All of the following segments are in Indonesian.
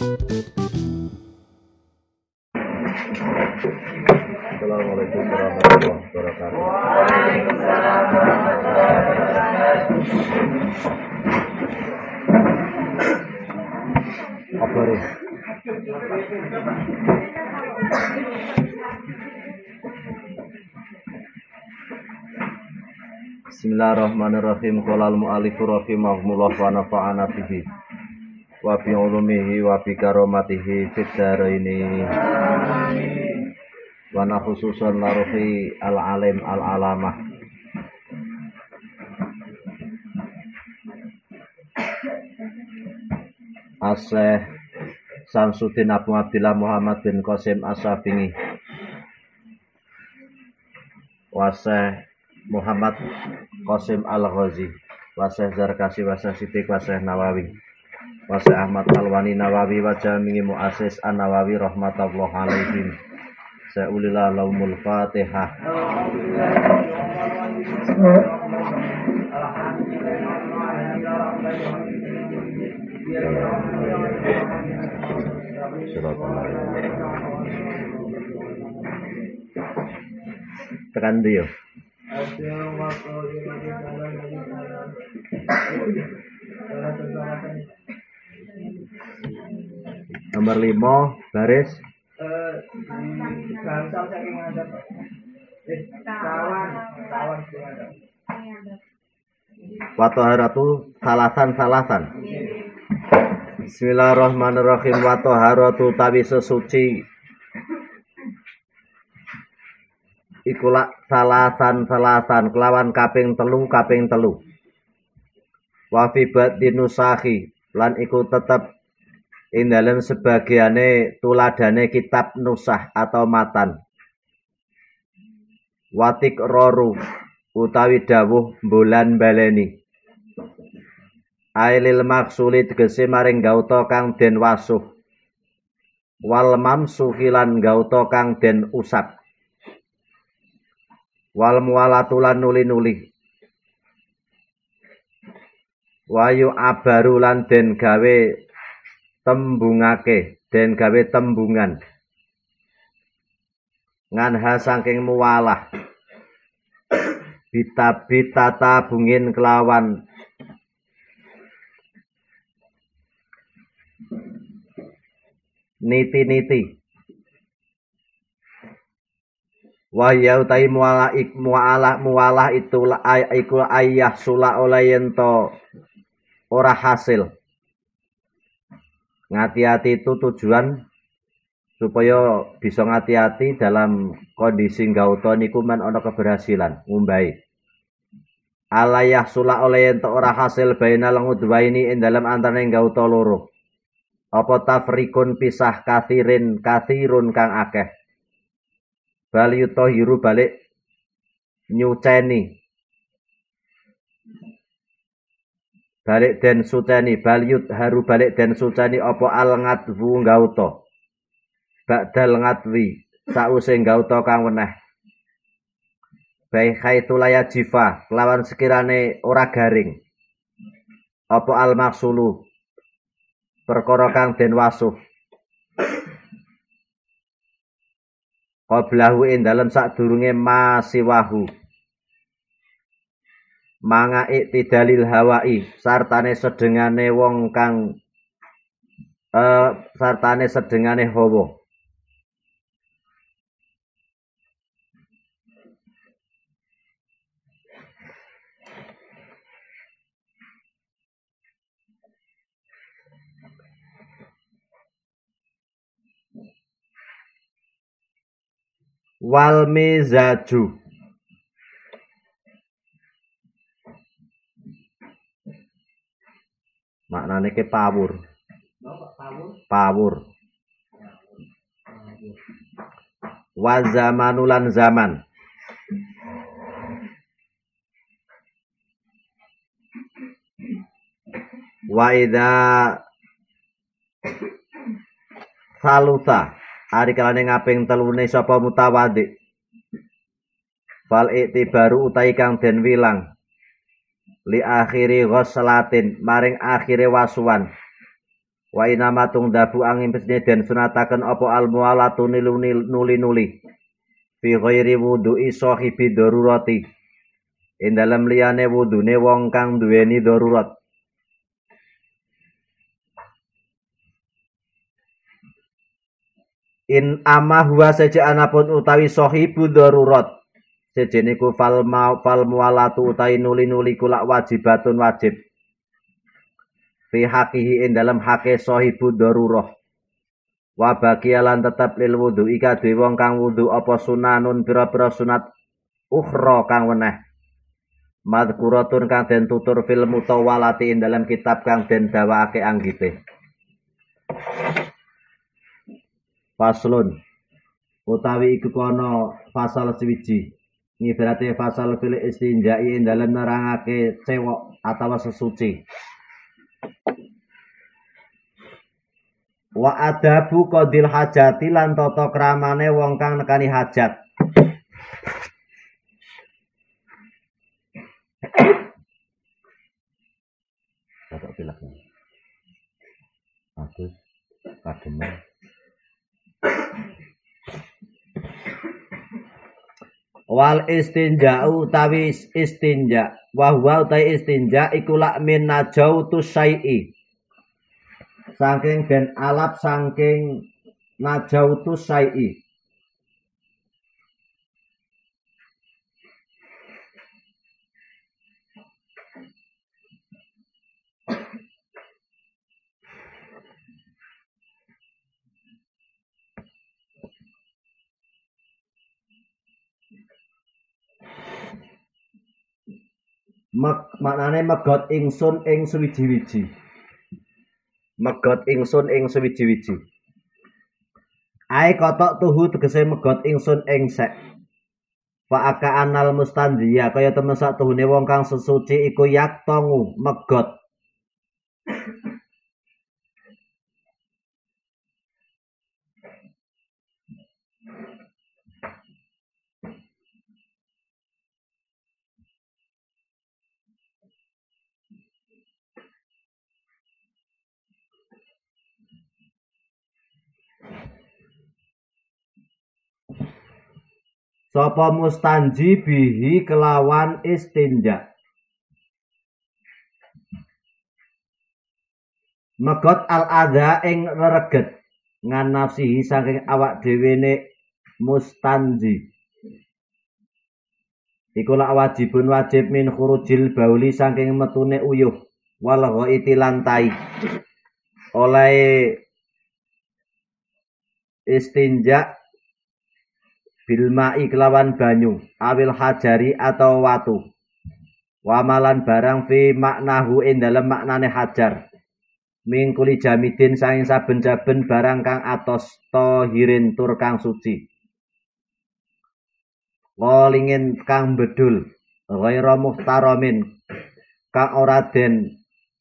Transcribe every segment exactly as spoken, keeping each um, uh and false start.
Assalamualaikum warahmatullahi wabarakatuh. Waalaikumsalam warahmatullahi wabarakatuh. Apa ini? Bismillahirrahmanirrahim. Qala al-mu'allifu rahimahullah wa nafa'ana bihi wa bi ulumihi wa bi karamatihi fid dharaini. Wa na khususan laruhi al-alim al-alamah As-Syekh Samsuddin Abu Abdillah Muhammad bin Qasim As-Syafi'i wa Syekh Muhammad Qasim Al-Ghazi wa Syekh Zarkasi wa Syekh Siddiq wa Syekh Nawawi wa Syekh Ahmad Alwani Nawawi wa jami'i muassis An-Nawawi rahmatullahi alaihim. Sa'ulillah laumul Fatihah. Tekan dia. Nomor lima baris wa taharatu salasan-salasan. Bismillahirrahmanirrahim. Wa taharatu tawi sesuci ikulah salasan-salasan kelawan kaping telu kaping telu. Wa fi batinusahi lan iku tetep ing dalem sebagiane tuladane kitab nusah atau matan. Watik roru utawi dawuh bulan baleni. Ailil maksuli tegese maring gauta kang den wasuh. Wal mamsuhi lan gauta kang den usap. Wal mualatulan nuli-nuli. Wayu abaru lan den gawe tembungake, den gawe tembungan. Nganha saking muwalah. Bita-bita tabungin kelawan niti-niti. Wahya utai mualah ik mualah mualah itu iku ayah sula oleh yento ora hasil. Ngati-hati itu tujuan supaya bisa ngati-hati dalam kondisi gauta niku men ana keberhasilan ngumbahi. Alayah sula oleh ento ora hasil bainal ngudwaini ing dalam antaraning gauta loro. Apa tafrikun pisah kathirin kathirun kang akeh. Bal yutahiru balik nyuceni. Balik den suceni balyut haru balik den suceni apa al ngadwu gauta ba'dal ngadwi sause gauta kang weneh bai khaitu laya jifa kelawan sekirane ora garing apa al maksulu perkara kang den wasuh qablahu ing dalem sadurunge masiwahu manga iktidalil hawai sartane sedengane wong kang eh sartane sedengane hawa. Wal mizaju maknane ke pawur. Pawur. Wa zamanulan zaman. Wa idza saluta ari kalane ngaping telune sapa mutawadhi. Fal iktibaru utai kang den wilang li akhiri ghuslatin maring akhire wasuwan Wa inama tungdabu angin pesne den sunataken apa almualatu nuli-nuli fi ghairi wudu'i sahibi darurati ing dalem liyane wudune wong kang duweni darurat. In ama huwa saja anapun utawi sahibu darurat sejene ku fal ma fal mualatu utawi nuli-nuli kula wajibatun wajib fi haqihi ing dalam hake sahibu darurah wa baqiyalan tetep lil wudu ika dhewe wong kang wudu apa sunanun pira-pira sunat ukhra kang weneh madhkuratun kang den tutur fil mutawalati ing dalam kitab kang den dawake anggite. Faslun utawi iku kono fasal swiji ngibarate fasal fil istinjai ing dalam nerangake cewek atawa sesuci. Wa adabu qadil hajati lan tata kramane wong kang nekani hajat. Bapak pilaknya. Bagus, kademen. Wal istinja'u utawi istinja. Wa huwa utawi istinja iku lak min najautu syai'i. Saking den alap saking najautu syai'i. Mek, maknane megot ingsun ing suwiji-wiji. Megot ingsun ing suwiji-wiji. Ae kotok tuhu tegese megot ingsun ing sek. Fa aka anal mustandiya kaya temen sak tuhune wong kang sesuci iku yaktongu megot. Sapa mustanji bihi kelawan istinja. Megot al-adha ing rereget ngan nafsihi saking awak dhewene mustanji. Iku lak wajibun wajib min khurujil bauli saking metune uyuh wal ghaiti lan tai. Oleh istinja bilma'i kelawan banyu awil hajari atau watu wamalan barang fi maknahu ing dalem maknane hajar mingkuli jamidin saking saben-saben barang kang atos tahirin tur kang suci walingin kang bedul ghaira muhtaramin kang ora den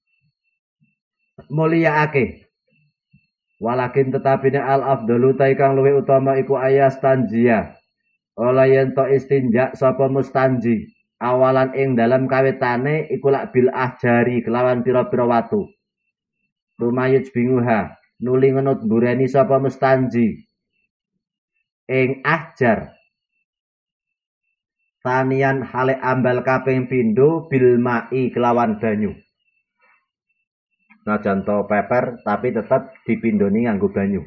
mulyaake. Walakin tetapine al afdalu ta kang luwih utama iku ayas tanjia. Ola yen to istinja sapa mustanji awalan ing dalam kawitane iku lak bil ahjari kelawan pira-pira watu. Rumayuj binguha nuli ngenut bureni sapa mustanji ing ahjar. Tanian hale ambal kaping pindho bil mai kelawan banyu. Najan to peper tapi tetap dipindoni nganggo banyu.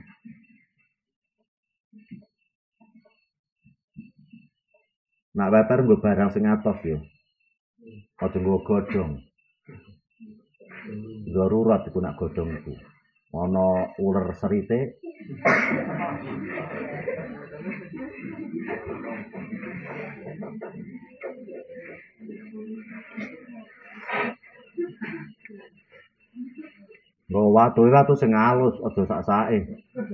Nak peper nggo barang sing atos yo. Aja nggo godhong. Darurat iku nak godhong iku. Ana uler serite. Nggo watu watu sing alus aja sak-sake.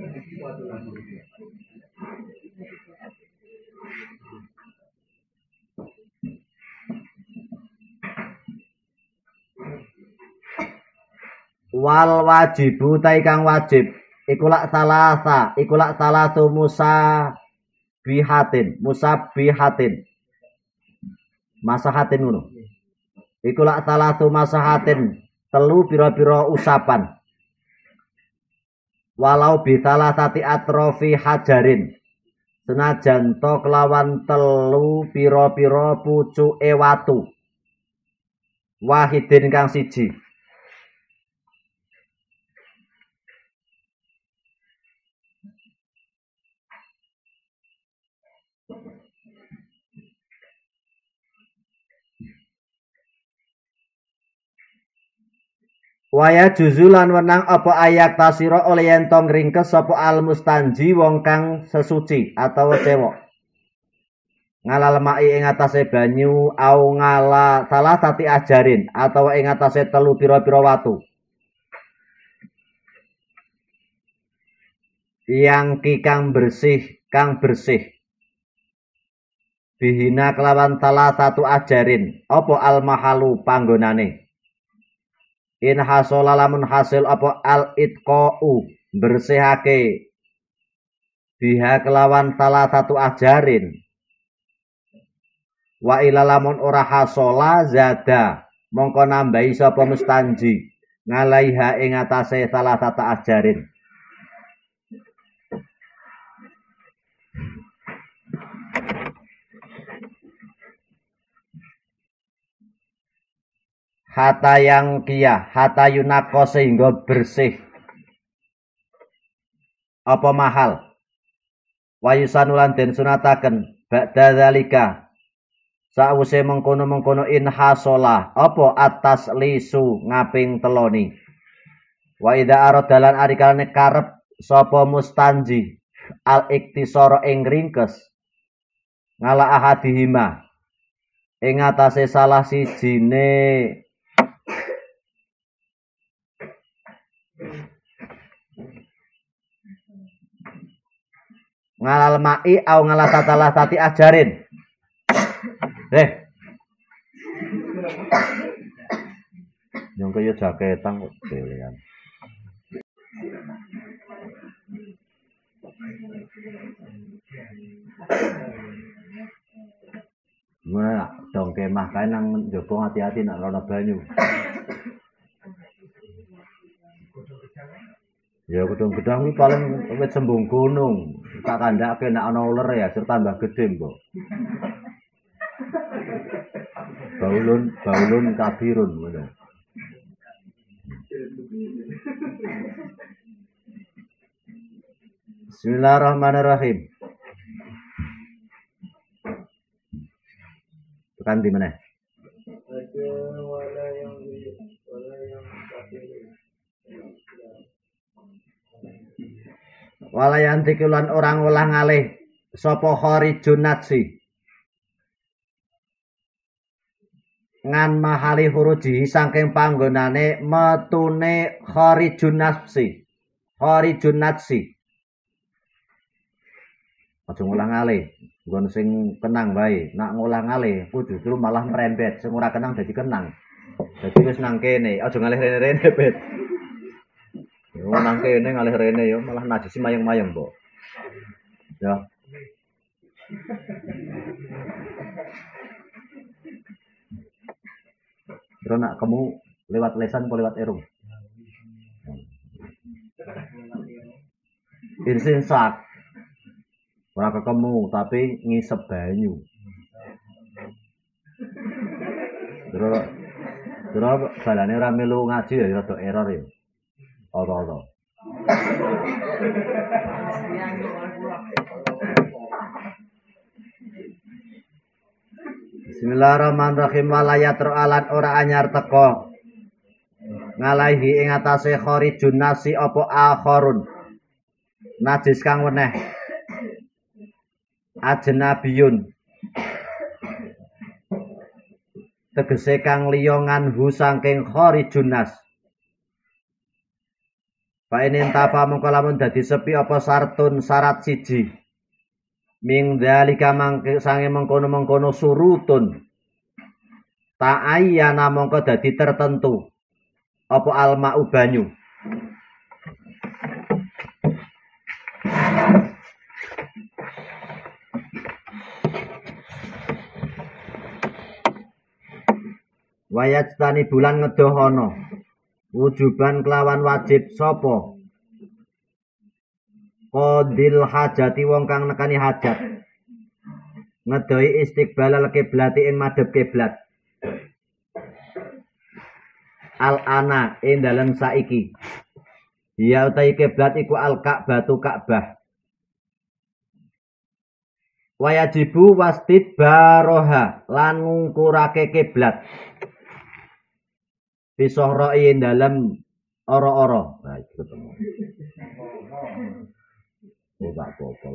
Wal wajibu ta kang wajib iku lak salasa iku lak salatu musa bihatin musabihatin masahatin ngono iku lak salatu masahatin telu pira-pira usapan walau bitalah tati atrofi hajarin senajan to kelawan telu pira-pira pucuke watu wahidin kang siji. Waya juzulan wenang apa ayak tasira oleh yen to ngringkes sapa al mustanji wong kang sesuci atau cewek ngalal mai ing atase banyu au ngala salah tati ajarin atau ing atase telu pira-pira watu yang ki kang bersih kang bersih bihina kelawan salah satu ajarin apa al mahalu panggonane. In hasola lamun hasil apa al itqau bersihake biha kelawan salah satu ajarin wa ila lamun ora hasola zada mongko nambahi sapa mustanji ngalaiha ing atase salah satu ajarin. Hata yang kia, hata yunako sehingga bersih. Apa mahal? Wayusanulan den sunataken ba'da dzalika. Sawise mengkono-mengkono in hasola apa atas lisu ngaping teloni. Wa idza aradalan arikalane karep sapa mustanji al iktisara ing ringkes ngala ahadihima ing atase salah sijine ngalal mai au ngalasatalah tati ajarin. Eh. Yang kaya jaketan kok delean. Gimana dong kemah kae nang njaba hati-hati nak rono banyu. Ya gedung-gedung iki paling wit sembung gunung. Tak kandhake nek ana uler ya serta tambah gedhe, Mbok. Baulun baulun kabirun ngono. Bismillahirrahmanirrahim. Tekan di mana? Walayanti kulan orang ulah ngalih sapa kharijun natsi ngan mahali huruji saking panggonane metune kharijun nafsi kharijun natsi aja ngulang ngalih nggon sing kenang bae nak ngulang ngalih ku justru malah merembet sing ora kenang dadi kenang dadi wis nang kene aja ngalih rene-rene bet. Yo nang kene ngalih rene yo malah najis mayang-mayang, Mbok. Ya. Terus nak kamu lewat lesan atau lewat erung? Irsin sak. Ora ketemu tapi ngisep banyu. Terus terus balane ora melu ngaji ya rada error ya. Apa-apa. Bismillahirrahmanirrahim walayat alan ora anyar teko ngalahi ing atase kharijun nasi apa akharun najis kang weneh ajnabiyun tegese kang liya nganhu saking kharijun nas. Fa inin tapa mongko lamun dadi sepi apa sartun syarat siji. Ming dalika mangke sange mengkono-mengkono surutun. Ta'ayyana mongko dadi tertentu. Apa alma'u banyu. Wayat tani bulan ngedohono. Wujuban kelawan wajib sopo qadil hajati wong kang nekani hajat ngedoi istiqbalal kiblati ing madhep kiblat al ana ing dalem saiki ya utawi kiblat iku al ka'batu ka'bah wayajibu wastid baroha lan ngungkurake kiblat bisohroi ing dalem ora-ora nah itu ketemu oh gak apa-apa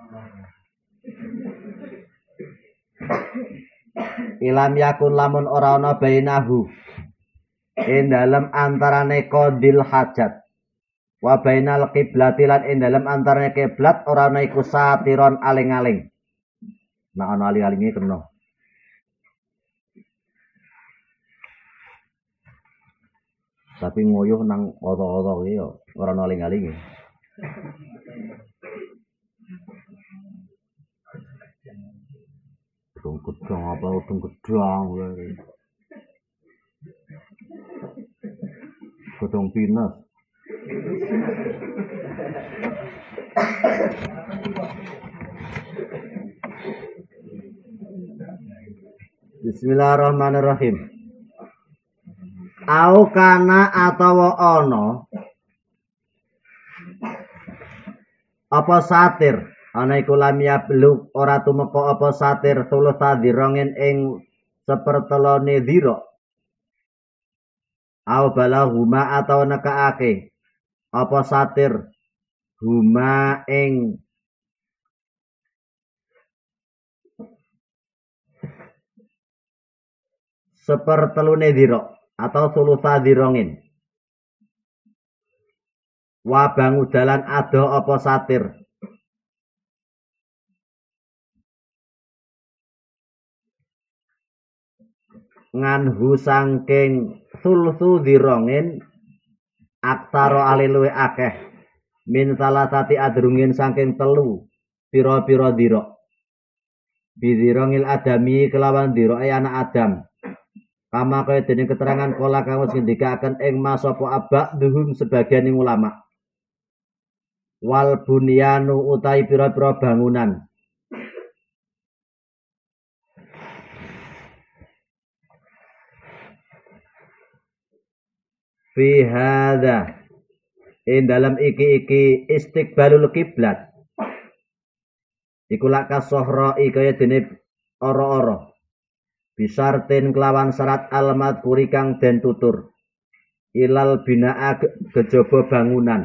ilam yakun lamun ora ana bainahu ing dalem antarane qadil hajat wa bainal qiblati lan ing dalem antarane kiblat ora ana iku satiron aling-aling nek ana aling-alinge kena tapi ngoyuh nang oto-oto iki yo ora ana aling-alinge udung gedang apa udung gedang gedang pinus Bismillahirrahmanirrahim au kana atawa ana apa satir ana iku lam yablug ora tumeka apa satir tulus tadirongen ing sepertelone dira au balahuma atau nekaake apa satir huma ing sepertelune dira atau sulusa dirongin wa bangu dalan ado apa satir nganhu sangking sulsu dirongin aksaro aliluwe akeh min salasati adrungin sangking telu piro-piro diro bidirongil adami kelawan diro ay anak adam kama kaya dene keterangan kala kang wis ngendikaken ing masapa abak duhum sebagian ing ulama wal bunyanu utai pira-pira bangunan fi hadza ing dalam iki-iki istiqbalul kiblat iku lak kasohrai kaya dene ora-ora bisartin kelawan syarat alamat kuri kang den tutur ilal binaa gejaba bangunan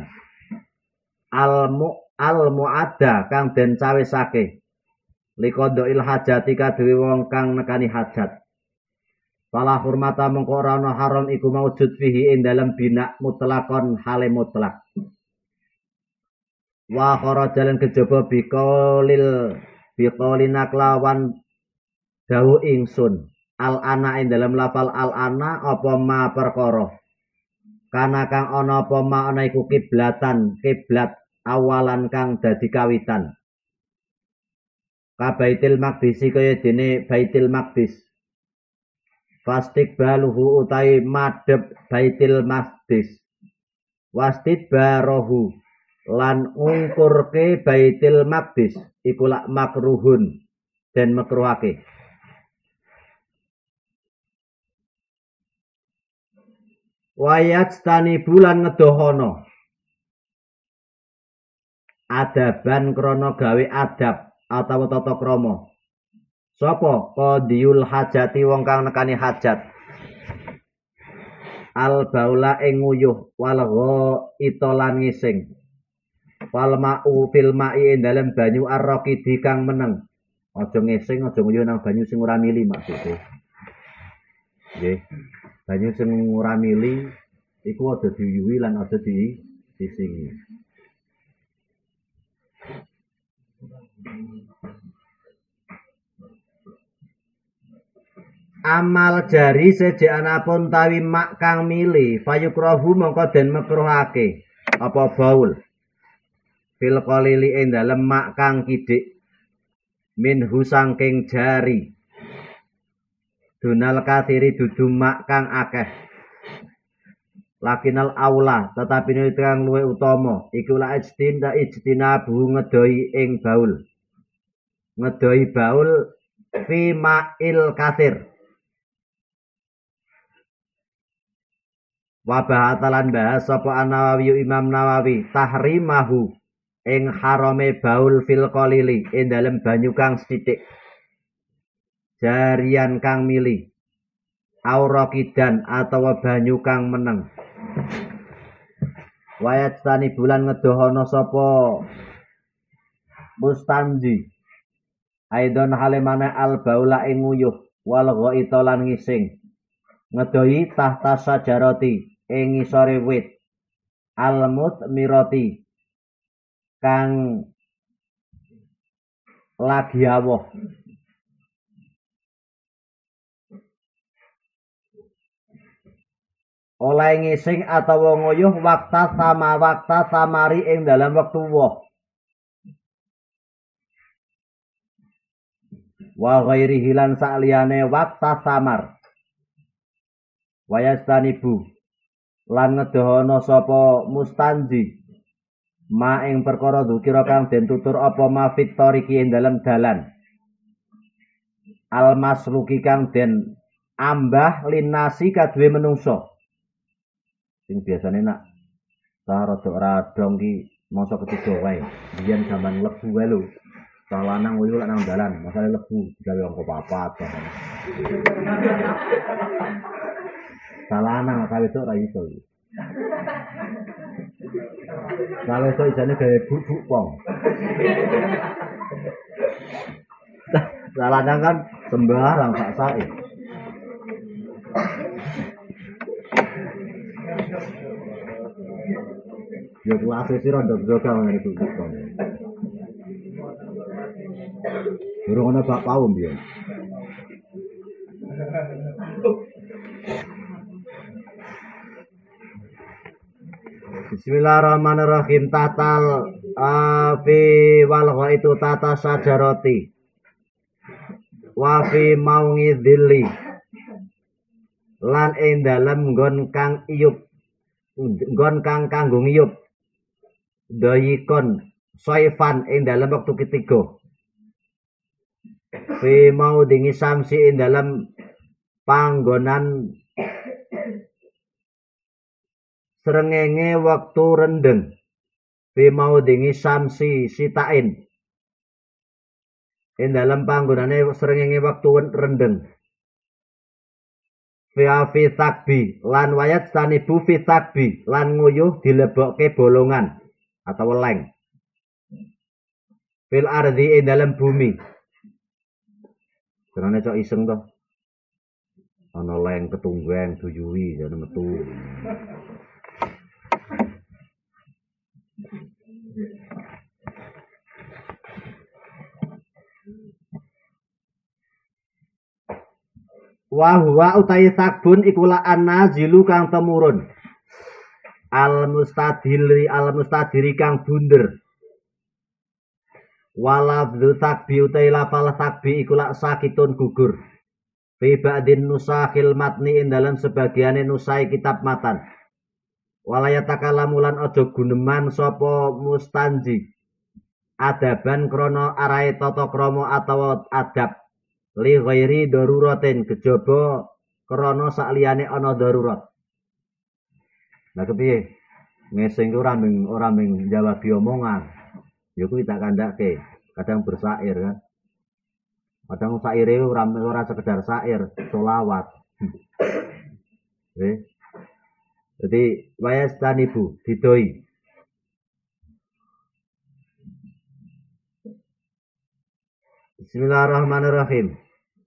almu almuadda kang den cawisake liqadil hajati kadhewe wong kang nekani hajat fala hurmata mengko ora ana haram iku maujud fihi ing dalem bina mutlakon hale mutlak wa kharajalan kejaba biqaulil biqaulina kelawan dawuh ingsun al ana ing dalem lafal al ana apa ma perkara kana kang ana apa ma ana iku kiblatan kiblat awalan kang dadi kawitan ka Baitul Maqdis kaya dene Baitul Maqdis fastiqbaluhu utai madhep Baitul Maqdis wastidbarahu lan ngungkurke Baitul Maqdis iku lak makruhun dan makruhake wayat tani bulan ngedohono adaban krono gawe adab atau tata krama sapa qadiyul hajati wong kang nekani hajat al baula ing nguyuh wal ghaita lan ngising wal ma'u fil ma'i dalem banyu arraqidi kang meneng aja ngising aja nguyuh nang banyu sing ora mili maksude nggih banyu sing ora mili iku aja diuyuhi lan aja di disingi amal jari sejeanapun tawi mak kang mili fayukrahu mongko den makruhake apa baul fil qalili ing dalem mak kang kidik minhu sangking jari dunal kathiri dudu mak kang akeh lakinal aula tetapi ini kang luwe utama iku la ijtinda ijtinabu ngedoi ing baul ngedoi baul fi ma'il kathir wa bahatalan bahas sapa An-Nawawi Imam Nawawi tahrimahu ing harame baul fil qalili ing dalem banyu kang sithik jarian kang mili aurakidan atawa banyu kang meneng wayat tani bulan ngedohono sapa mustanji aidon halemane al baula ing nguyuh wal ghaita lan ngising ngedoi tahta sajarati ing ngisore wit almut mirati kang lagi awoh oleh ngising atawa nguyuh wakta sama wakta samari ing dalam wektu woh wa ghairi hilan sakliyane wakta samar wayastanibu lan ngedohono sapa mustanji ma ing perkara dzikira kang den tutur apa mafit tariki ing dalem dalan almasluki kang den ambah linasi kadue menungso sing biasane nak ta rada-radong ki masa ketiga wae biyen zaman lebu wae lho ta lanang wuyu lak nang dalan masale lebu digawe angka papat ta lanang kawe tok ra iso kalau itu isane gawe bubuk pong. Saladang kan sembarang sak sae. Yo kelas iki rondo joga ngene iki kok. Durung ana bak paum biyen. Bismillahirrahmanirrahim tatal afi wal itu tata sajaroti wa fi maungi dhilli lan ing dalem nggon kang iyup nggon kang kanggo ngiyup dayikon soifan ing dalem wektu ketiga fi maudingi samsi ing dalem panggonan srengenge waktu rendeng fi maudingi samsi sitain ing dalam panggonane srengenge waktu rendeng fi afi takbi lan wayat tanibu fi takbi lan nguyuh dilebokke bolongan atau leng fil ardi ing dalam bumi karena cok iseng to ana leng ketunggang duyuwi jane metu wa huwa utai sakbun ikula annazilu kang temurun al mustadili al mustadiri kang bunder walabdu sakbi utai lafal sakbi ikula sakitun gugur fi ba'din nusakhil matni ing dalam sebagiane nusai kitab matan walayatakallamulan aja guneman sapa mustanji adaban krana arahe tata krama atawa adab li ghairi daruratin kejaba krana sakliyane ana darurat. Lah kepiye? Ngesing ku ora ming ora ming jawabi omongan. Ya kuwi tak kandhake, kadang bersair kan. Kadang saire ora ora sekedar sair, selawat. Eh. Jadi wayastanibu didoi. Bismillahirrahmanirrahim.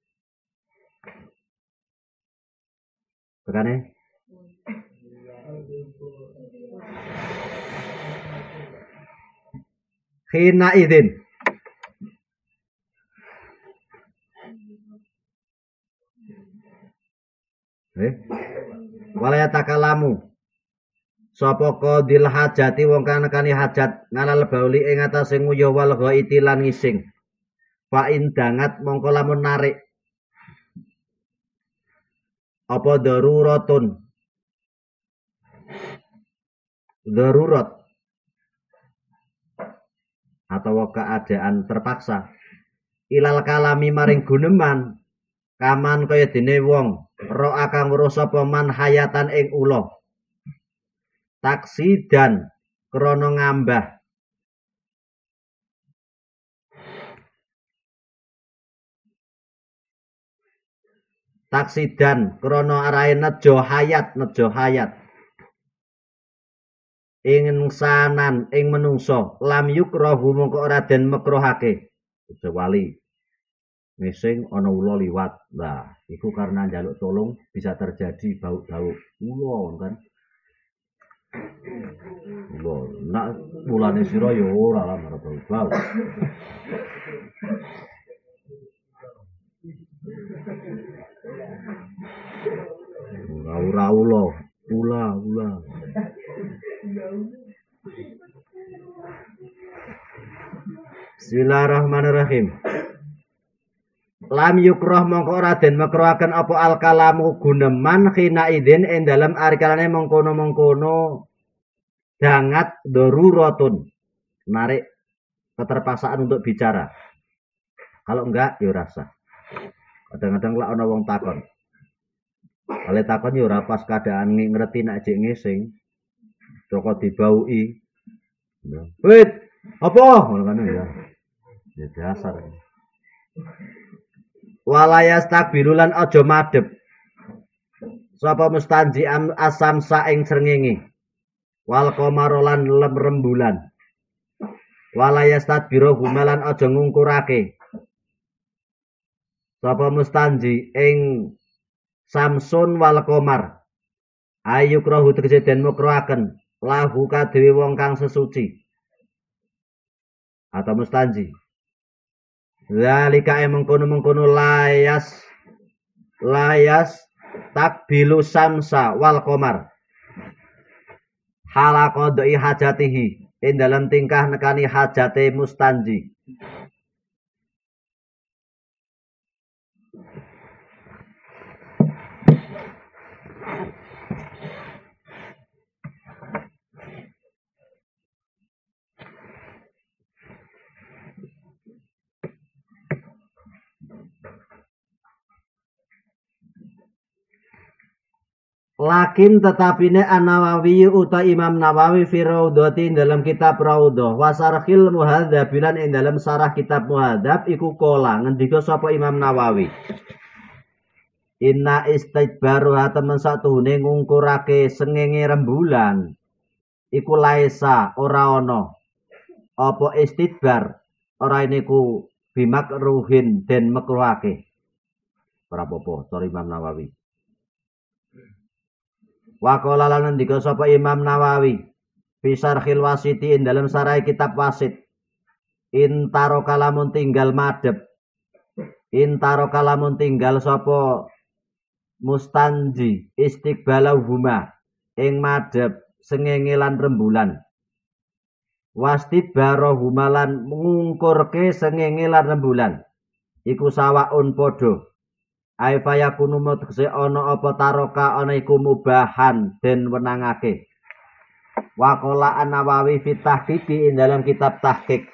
Tekane. Khina idin. Eh. Walaya takalamu. Sapa qadil hajati wong kang nekani hajat ngalal bauli ing atase nguyuh wal ghaiti lan ngising. Fa in dangat mongko lamun narik apa daruratun darurat atau keadaan terpaksa ilal kalami maring guneman kaman kaya dene wong ro akang weruh sapa man hayatan ing ula taksidan krana ngambah taksidan krana arahe nejo hayat nejo hayat ing sanan ing menungso lam yukrahu mongko ora den makruhake kecuali ngising ana ula liwat. Nah, iku karena njaluk tolong bisa terjadi bau-bau ula kan. Ula, nak mulane sira ya ora lah bau-bau. Ora ula, ula, ula. Bismillahirrahmanirrahim. Lam yukrah mongko ora den makruhaken apa al kalamu guneman khina idin ing dalem arikalane mengkono-mengkono dangat daruratun narik keterpaksaan untuk bicara. Kalau enggak ya rasa. Kadang-kadang lek ana wong takon. Oleh takon ya ora pas keadaan ngerti nek jek ngising. Toko dibauki. Wit, apa? Ngono kan ya. Ya dasar. Walayas takbirulan aja madhep sapa mustanji asam saing srengenge wal qamarolan lem rembulan walayas takbiru gumalan aja ngungkurake sapa mustanji ing samsun wal qamar ayu krahu tegese den mukroaken lahu kadhewe wong kang sesuci atau mustanji. Zalika emang kono-mengkono layas layas takbilu samsa wal qamar hala qadai hajatihi ing dalam tingkah nekani hajate mustanji. Lakin tetapine An-Nawawi uta Imam Nawawi fi Raudhati dalam kitab Raudhah wasarhil muhadzab bilan ing dalam sarah kitab muhadzab iku kola ngendika sapa Imam Nawawi inna istidbaru temen satuhune ngungkurake sengenge rembulan iku laisa ora ana apa istidbar ora niku bimak ruhin den makruhake ora apa-apa cara Imam Nawawi. Waqala lan ngendika sapa Imam Nawawi fi Syarhil Wasiti ing dalam sarai kitab Wasit intaro kalamun tinggal madhep intaro kalamun tinggal sapa mustanji istiqbalahuma ing madhep sengenge lan rembulan wastidbarahuma lan ngungkurke sengenge lan rembulan iku sawaun padha ai fayakunu mutse ana apa taroka ana iku mubahan den wenangake. Waqala An-Nawawi fi tahqiqi ing dalam kitab tahqiq.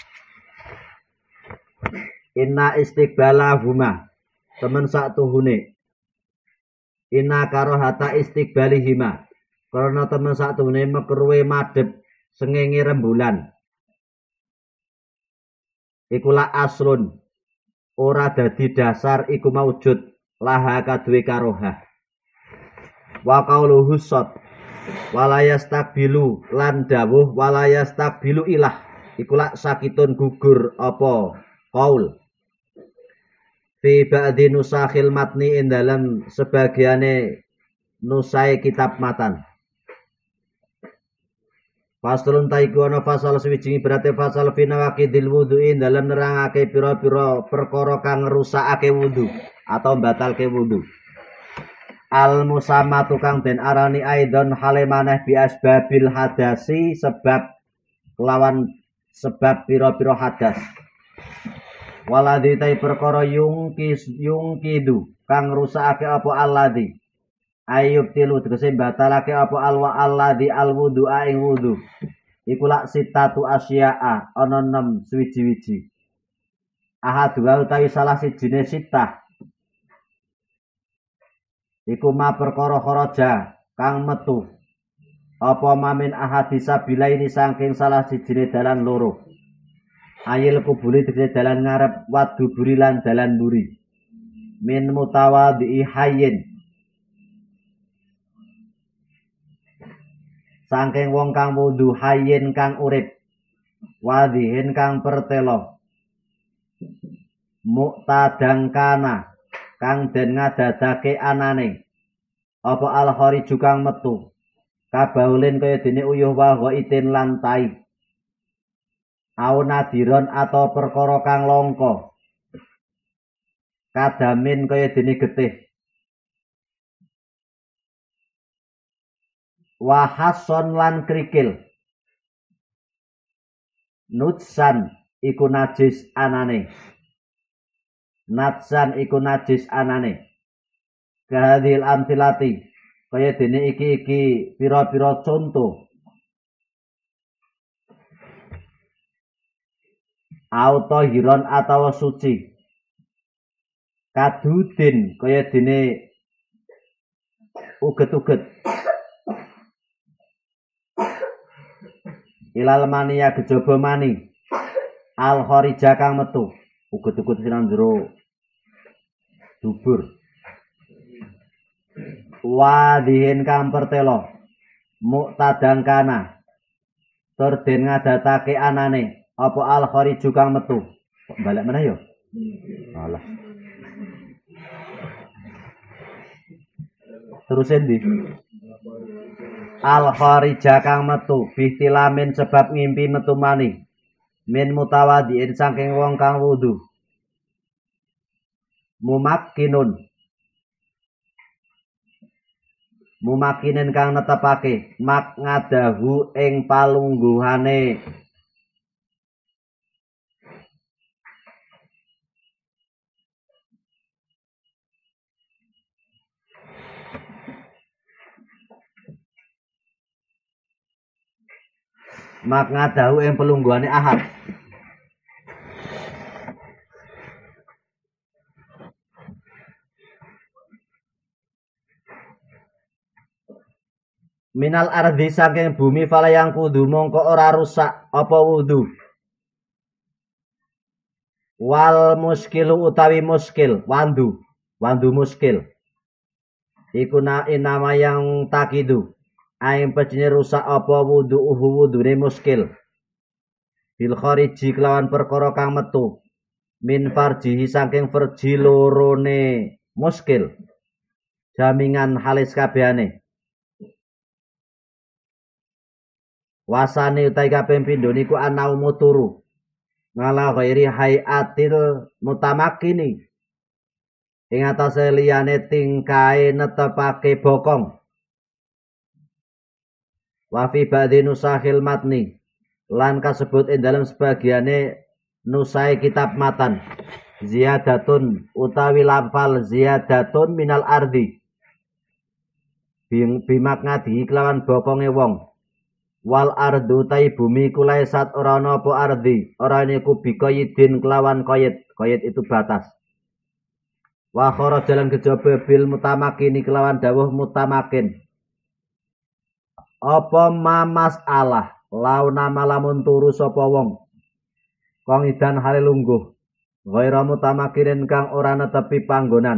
Inna istiqbalahuma temen satuhune. Inna karohata istiqbalihima. Karena temen satuhune mekruwe madhep sengenge rembulan. Ikulah aslun ora dadi dasar iku maujud laha kaduwe karohah wa qauluhu sot walayas takbilu lan dawuh walayas takbilu ilah iku lak sakitun gugur apa qaul fi ba'di nusakhil matni ing dalam sebagiane nusai kitab matan. Faslun taiku ana fasal sawijingi berarti fasal fina waqidil wudu'in dalam nerangake pira-pira perkara kang ngrusakake wudu atau batalke wudu. Al musamma tukang den arani aidon hale maneh bi asbabil hadasi sebab lawan sebab pira-pira hadas. Waladhi tai perkara yungkis yungkidu kang ngrusakake apa alladhi ayub tilu tegese batalake apa alwa alladzi alwudu ing wudu iku lak sitatu asya'a ana enam suwiji-wiji ahad wa utawi salah sijine sitah iku ma perkara kharaja kang metu apa mamin ahadisa bilaini saking salah sijine dalan loro ayil kuburi tegese dalan ngarep wadu buri lan dalan buri min mutawadhi hayyin saking wong kang wudu hayyin kang urip wadhihin kang pertelo muktadang kana kang den ngadadake anane apa al khariju kang metu kabaulin kaya dene uyuh wa itin lan tai au nadiron atau perkara kang langka kadamin kaya dene getih wa hason lan krikil nutsan iku najis anane natsan iku najis anane kahadil amtilati kaya dene iki-iki pira-pira contoh auto hiron atau suci kadudin kaya dene uget-uget ilal mania kejaba mani al kharija kang metu uget-uget sinan jero dubur wadihin kang pertelo muktadang kana tur den ngadatake anane apa al khariju kang metu balik meneh yo alah terus endi al kharija kang metu bihtilamin sebab ngimpi metu mani min mutawadhiin saking wong kang wudu mumakkinun mumakinin kang netepake mak ngadahu ing palungguhane mak ngadahu ing pelungguhane ahad minal ardi saking bumi falayang kudu mongko ora rusak apa wudu wal muskilu utawi muskil wandu wandu muskil iku na inama yang takidu aing pecine rusak apa wudu uhu wudune muskil bil khariji kelawan perkara kang metu min farjihi saking farji lorone muskil jamingan halis kabehane wasane utai kaping pindho niku anau muturu ngala ghairi hayatil mutamakkini ing atase liyane tingkae netepake bokong wa fi ba'dhi nusahil matni lan kasebut ing dalam sebagiane nusai kitab matan ziyadatun utawi lafal ziyadatun minal ardi bimak ngadi kelawan bokonge wong wal ardu tai bumi kulai sat ora ana apa ardi ora niku bikoyidin kelawan koyit koyit itu batas wa khara jalan kejaba bil mutamakin kelawan dawuh mutamakin apa mamas Allah launa malamun turu sapa wong kang idan hale lungguh ghaira mutamakirin kang ora netepi panggonan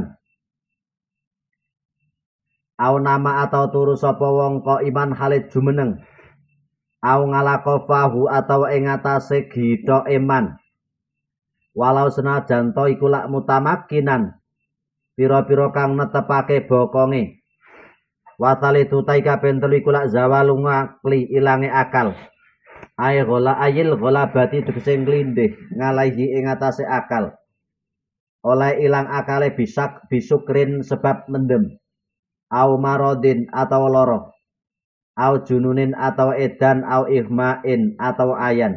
au nama atau turu sapa wong kok iman hale jumeneng au ngalakofahu atau ing atase gito iman walau senajan to iku lak mutamakinan pira-pira kang netepake bokonge watali tutai kapen telu iku lak zawalung akli ilange akal ay gola ayil gola bati tegese nglindih ngalahi ing atase akal oleh ilang akale bisak bisukrin sebab mendem au marodin atau loro au jununin atau edan au ihmain atau ayan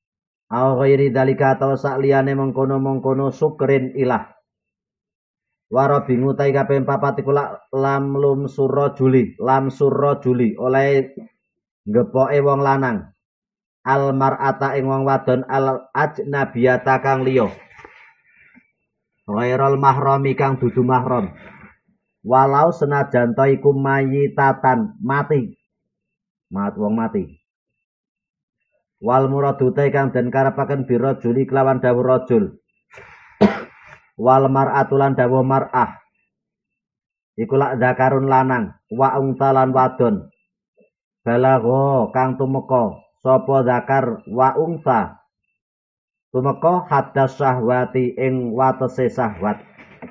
au ghairi dalika atau sakliyane mengkono-mengkono sukrin ilah Waro bingu tai kaping papat iku lam lum sura juli, lam sura juli oleh ngepoke wong lanang. Al mar'ata ing wong wadon al ajnabiyata kang liya. Ghairul mahrami kang dudu mahram. Walau senajan to iku mayitatan mati. Mat wong mati. Wal muradu ta kang den karepaken biro juli kelawan dawuh rajul. Wal mar'atu lan dawuh mar'ah iku lak zakarun lanang wa ungtalan wadon balagho kang tumeka sapa zakar wa ungta tumeka hadas syahwati ing watese syahwat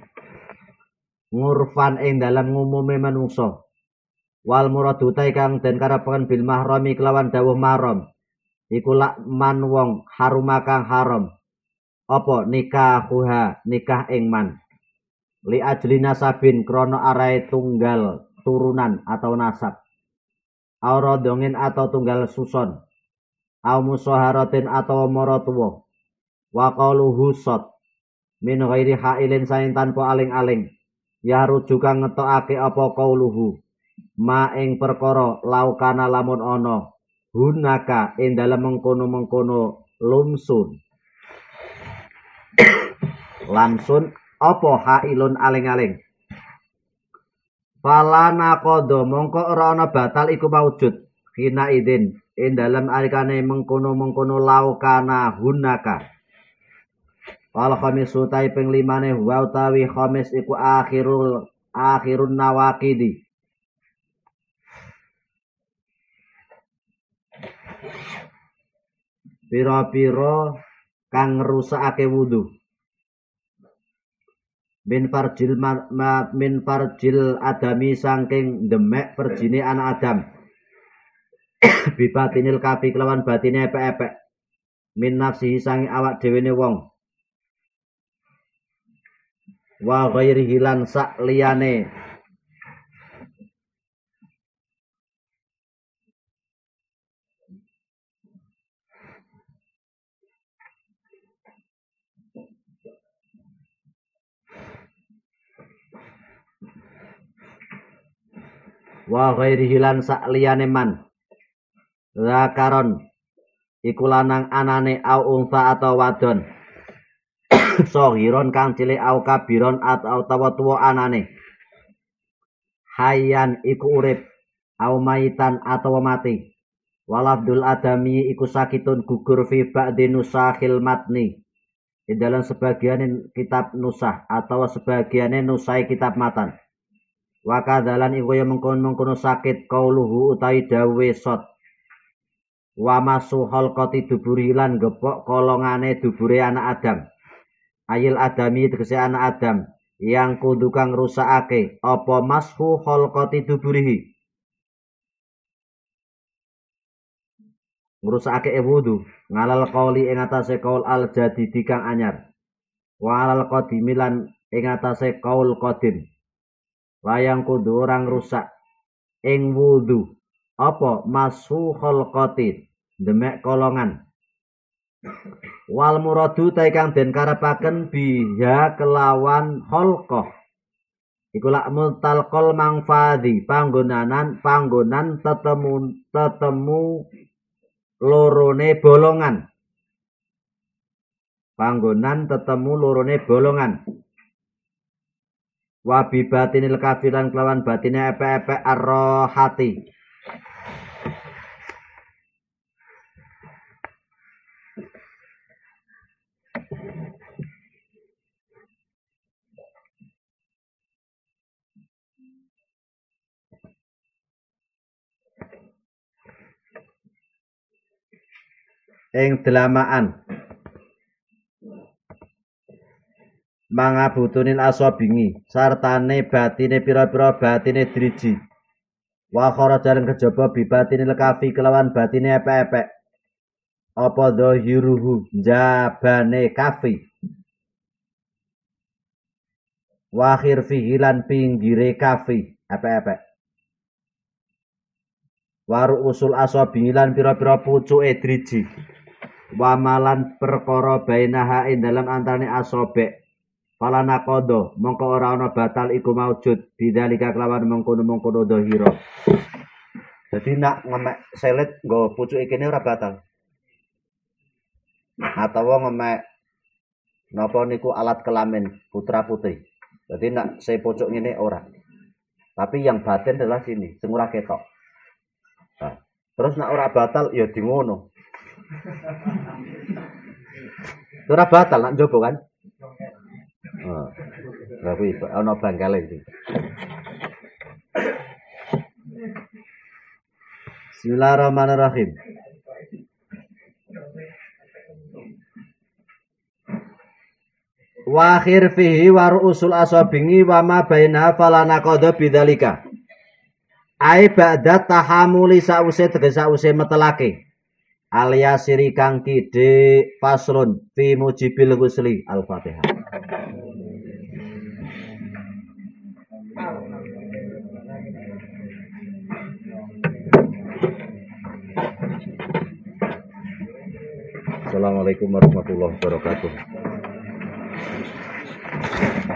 ngurfan ing dalam ngumume manungsa. Wal muradu ta kang den karepaken bil mahrami kelawan dawuh mahram iku lak man wong haruma kang haram apa nikahuha nikah ing man li ajli nasabin krono arae tunggal turunan atau nasab aura dongin atau tunggal suson au musaharatin atau mara tuwa wa qaluhu sot min ghairi hailin saing tanpa aling-aling ya rujuka ngetokake apa qauluhu ma ing perkara laukana lamun ana hunaka ing dalem mengkono-mengkono lumsun lamsun apa hailun aling-aling fala naqada mongko ora ana batal iku maujud hina idin ing dalem alikane mengkono-mengkono laukana hunaka. Wal khamisu tai ping limane wa utawi khamis iku akhirul akhirun nawaqidi pira-pira kang ngrusakake wudu min farjil ma, ma, min farjil adami saking demek perjine anak Adam bibatinil kafi kelawan batine epek-epek min nafsihi sangi awak dhewene wong wa ghairi hilan sak liyane wa ghairi hilan sak liyane man zakaron iku lanang anane au unsa atau wadon sohiron kang cilik au kabiron atau tawa tuwa anane hayyan iku urip au mayitan atau mati walafdul adami iku sakitun gugur fi ba'di nusakhil matni di dalam sebagian kitab nusah atau sebagiannya nusai kitab matan. Wakadalan iku ya mengkono-mengkono sakit kauluhu utai dawe sot wa masuhol koti duburi lan gepok kolongane dubure anak Adam ayil adami tegese anak Adam yang kudu kang rusakake apa mashu kholqati duburihi ngrusakake wudu ngalal qauli ing atase qaul al jadidi kang anyar wa alal qadimi lan ing atase qaul qadim layang kudu orang rusak ing wudu apa mashu kholqati demek kolongan wal muradu ta kang den karepaken biha kelawan kholqah iku lak mutalqal mangfadi panggonanan panggonan tetemu tetemu lorone bolongan panggonan tetemu lorone bolongan wa bi batinil kafiran kelawan batine epek-epek arrohati ing delamaan mangabutunil asobingi sartane batine pira-pira batine driji wa kharajan kejaba bibatinil kafi kelawan batine epek-epek apa dhahiruhu jabane kafi wa khirfihi lan pinggire kafi epek-epek waru usul asobingi lan pira-pira pucuke driji wamalan perkara bainaha ing dalam antarane asobek Fala naqodo mongko ora ana batal iku maujud bidzalika kelawan mengkono-mengkono dhahira. Jadi nak ngemek selit nggo pucuke kene ora batal. Atau ngemek napa niku alat kelamin putra putri. Jadi nak saya pucuk ngene ora. Tapi yang batin adalah sini, sing ora ketok. Nah, terus nak ora batal ya di ngono. Ora batal nak njobo kan? Heeh. Lah kuwi ana bangkale iki. Bismillahirrahmanirrahim. Wa akhir fihi wa ru'usul asabingi wa ma baina falana qada bidzalika. Ai ba'da tahamuli sause tegese sause metelake. Aliasiri kang kidhe faslun fi mujibil ghusli Al-Fatihah. Assalamualaikum warahmatullahi wabarakatuh.